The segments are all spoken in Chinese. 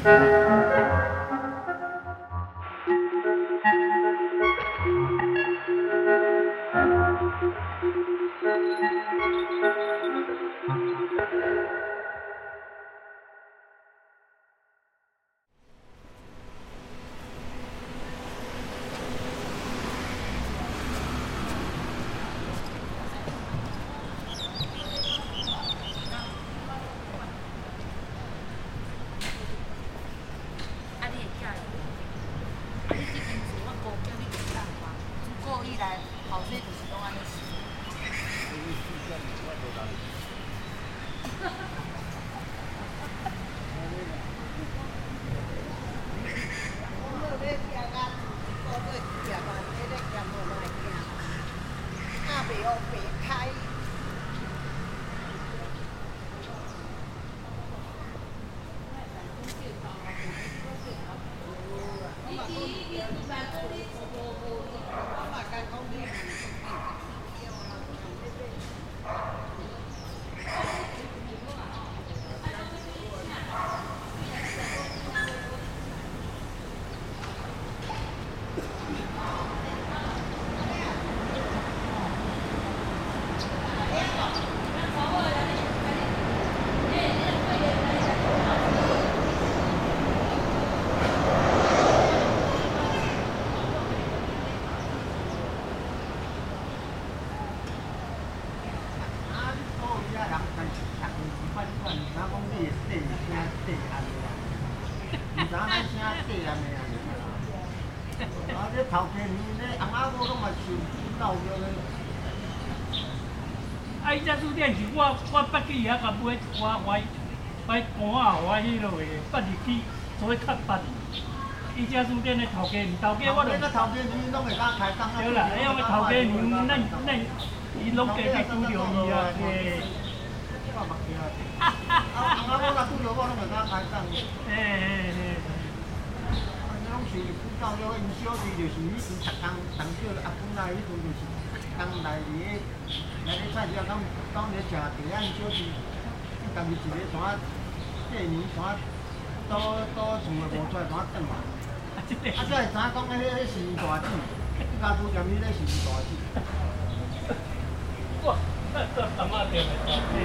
啊！伊只书店是我捌去遐甲买买肝啊，我迄落个捌入去做较捌。伊只书店的头家，头家我著。头家你拢会甲开档啊？对啦，迄个头家娘，咱伊拢过去拄着伊啊，嘿。我目镜。我若拄着我拢会甲開檔。嘿。你攏是到了因小弟就是以前逐工同小阿公來迄陣就是。當來咧菜市啊，當咧食茶啊，因小弟，伊家己一個山過年山倒厝誒無出來山轉來，才會知影講迄是大姊，伊家拄踮迄個是大姊。哇，這阿媽店誒大姊，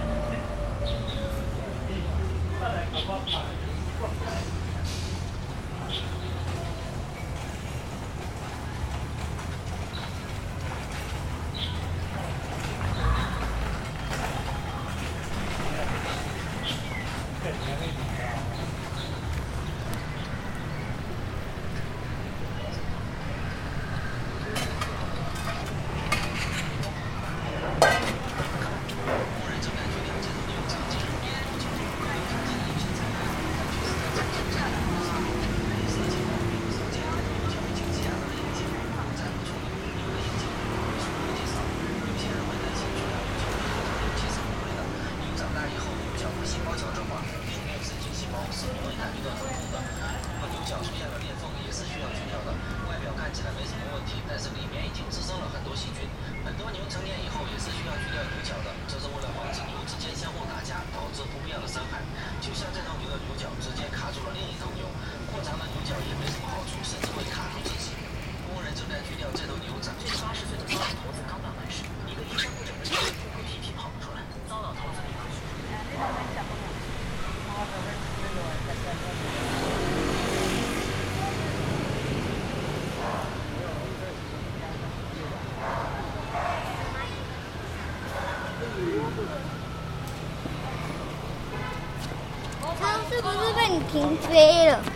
再來甲我拍。 是不是被你停飞了？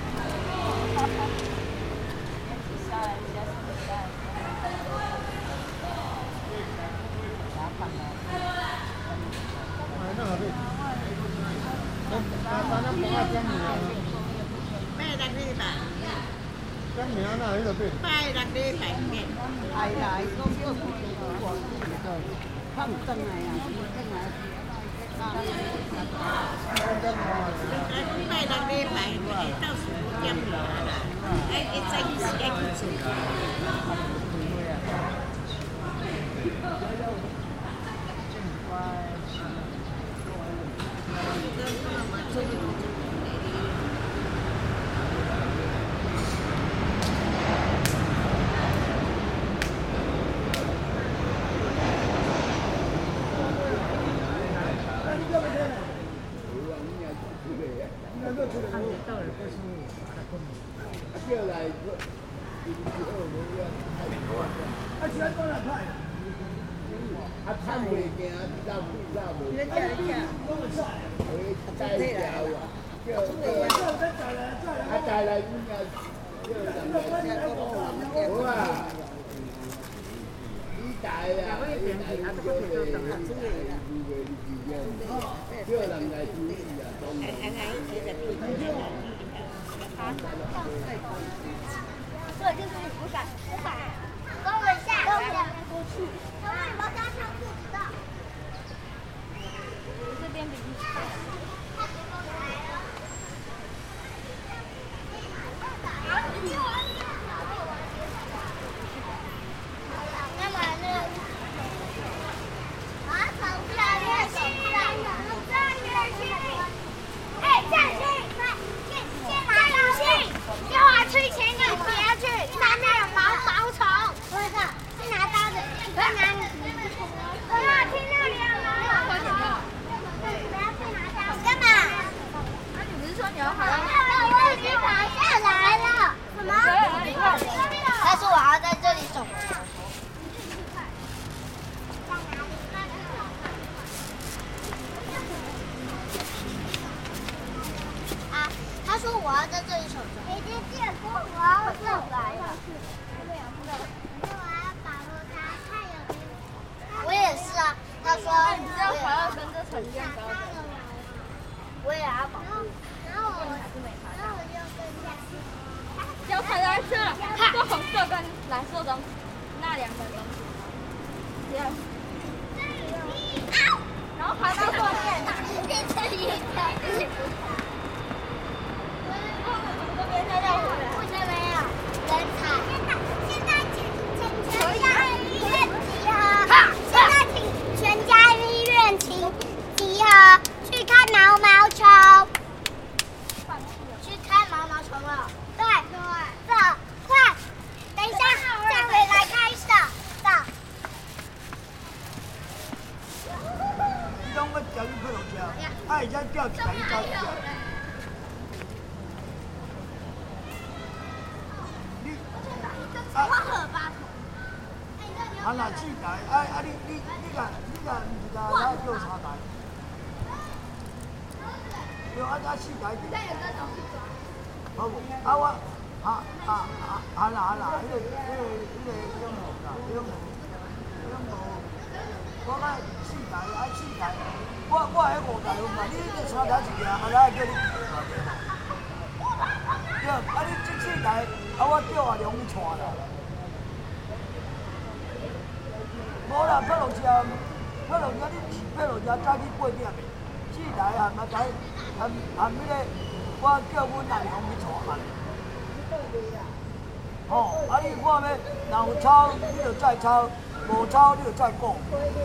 抄，无抄你就再講。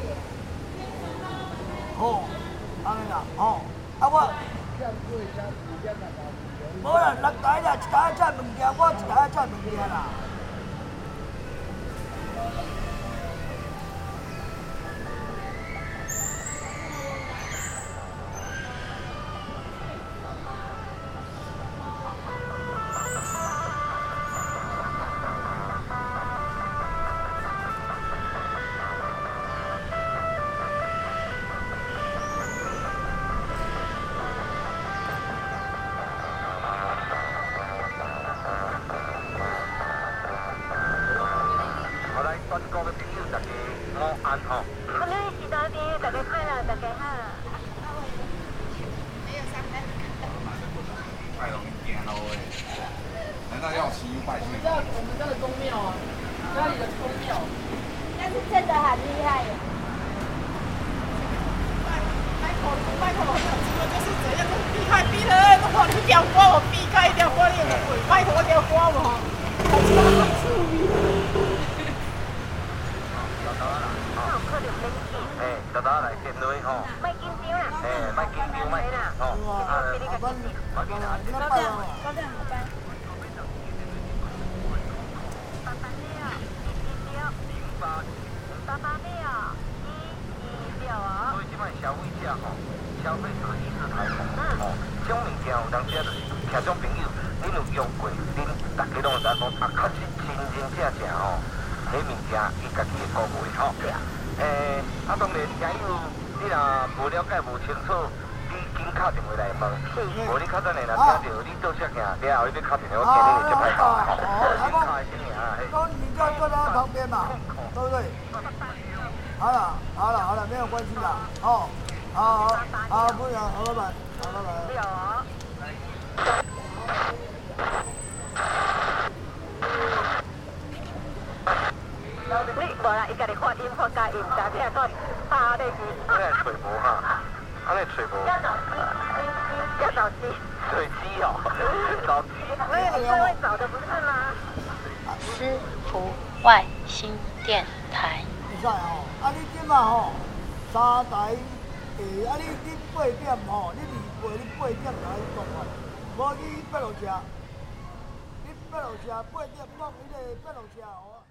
好，安尼啦，吼，我，無啦，6台啦，一台載物件，我一台載物件啦。 消費者意識抬頭，鄉民。 件有當時啊，就是聽眾朋友，恁有用過，恁大家攏有知講，啊，確實真正吼，迄物件伊家己會講袂吼。啊，當然，假如你若無了解、無清楚，你緊敲電話來問，無你較等下若聽到你倒車行，了後你要敲電話，我見你會接歹搞。 說你就坐在他旁邊嘛，對不對？好了，沒有關係的。哦，好，不講，好，拜拜，好，拜拜。 你無啦，伊家己發音發假音，但係個拍咧去。 你係吹無哈？你吹無？ 要找雞。 水雞哦，找雞。 你最會找的不是嗎？ 思福外星電台。 會使哦，你即馬吼3台你8點吼，你2你8點來講哦，無你8路車，你8路車8點講迄個8路車哦。